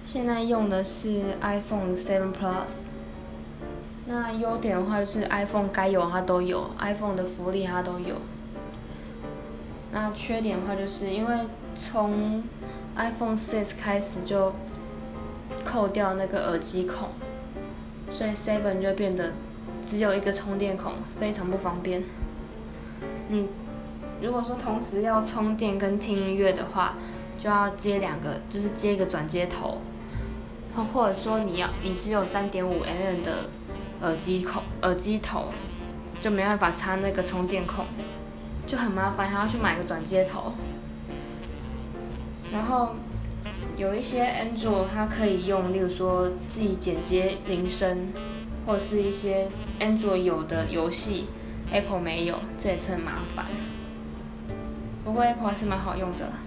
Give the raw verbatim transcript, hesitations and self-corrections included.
现在用的是 iPhone 七 Plus。那优点的话就是 iPhone 该有它都有 ，iPhone 的福利它都有。那缺点的话就是因为从 iPhone 六开始就扣掉那个耳机孔，所以七就变得只有一个充电孔，非常不方便。你如果说同时要充电跟听音乐的话，就要接两个，就是接一个转接头，或者说你要你只有 三点五 毫米 的耳机孔耳机头，就没办法插那个充电孔，就很麻烦，还要去买个转接头。然后有一些 Android 它可以用，例如说自己剪接铃声，或者是一些 Android 有的游戏 Apple 没有，这也是很麻烦。不过 Apple 还是蛮好用的啦。